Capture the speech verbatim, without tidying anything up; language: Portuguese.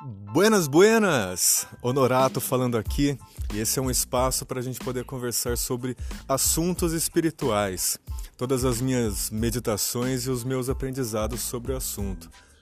Buenas, buenas! Honorato falando aqui, e esse é um espaço para a gente poder conversar sobre assuntos espirituais, todas as minhas meditações e os meus aprendizados sobre o assunto.